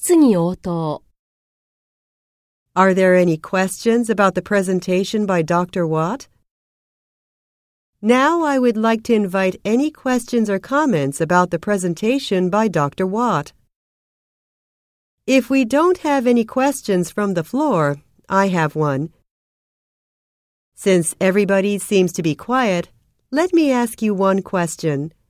質疑応答。 Are there any questions about the presentation by Dr. Watt? Now I would like to invite any questions or comments about the presentation by Dr. Watt. If we don't have any questions from the floor, I have one. Since everybody seems to be quiet, let me ask you one question.